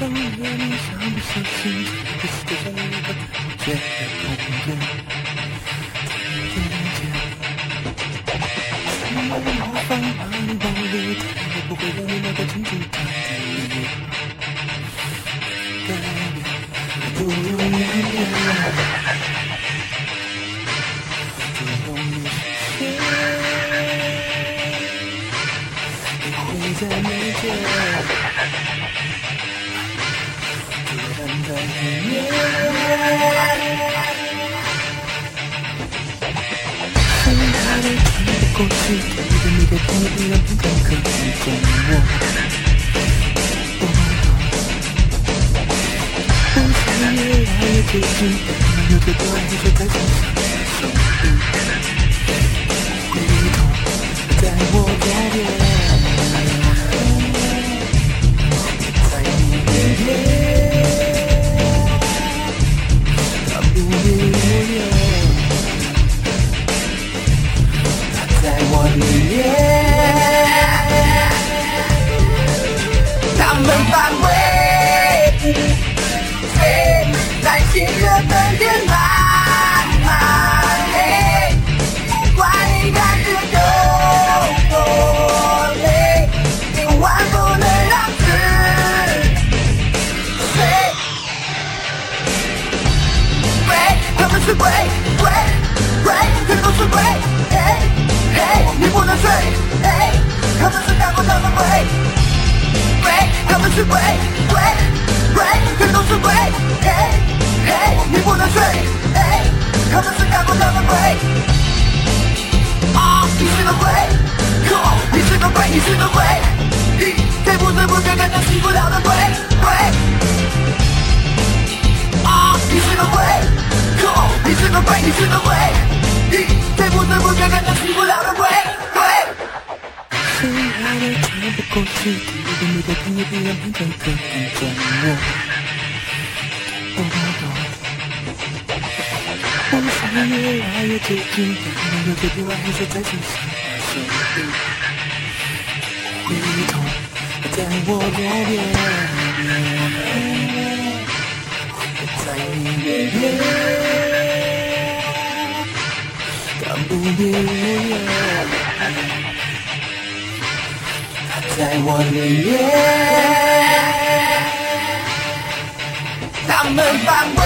想念你，小不小心，这世界上有一个不见的空间。我放把你往里推，也不会让你那个清楚他的不用原谅，就用你实现，你会在眉间，突然在黑夜。过去的你的天地让不敢可以跟我，不想越来越接近，有太多爱就在身上手印，回头在我左边，在你面前，他不离我远。在我里面，他们反胃，担心热的脸慢慢黑，不管你感觉多累，千万不能让自睡。鬼，他们是鬼，全都是鬼。你不能睡，他们是干过他们鬼，他们是鬼，全都是鬼，你不能睡，他们是干过他们鬼，你是个鬼，你是个鬼，你是个鬼，最不最不该感到洗不了的鬼，你是个鬼，你是个鬼，你是个鬼，最不最不该感到洗不了的鬼。亲爱的，喘不过气，听不懂你的听也别让变成可以跟我。我想越来越接近，但有些地方还是在身上手印，回头在我左边，在你面前，他不离我远。在我里面，他们反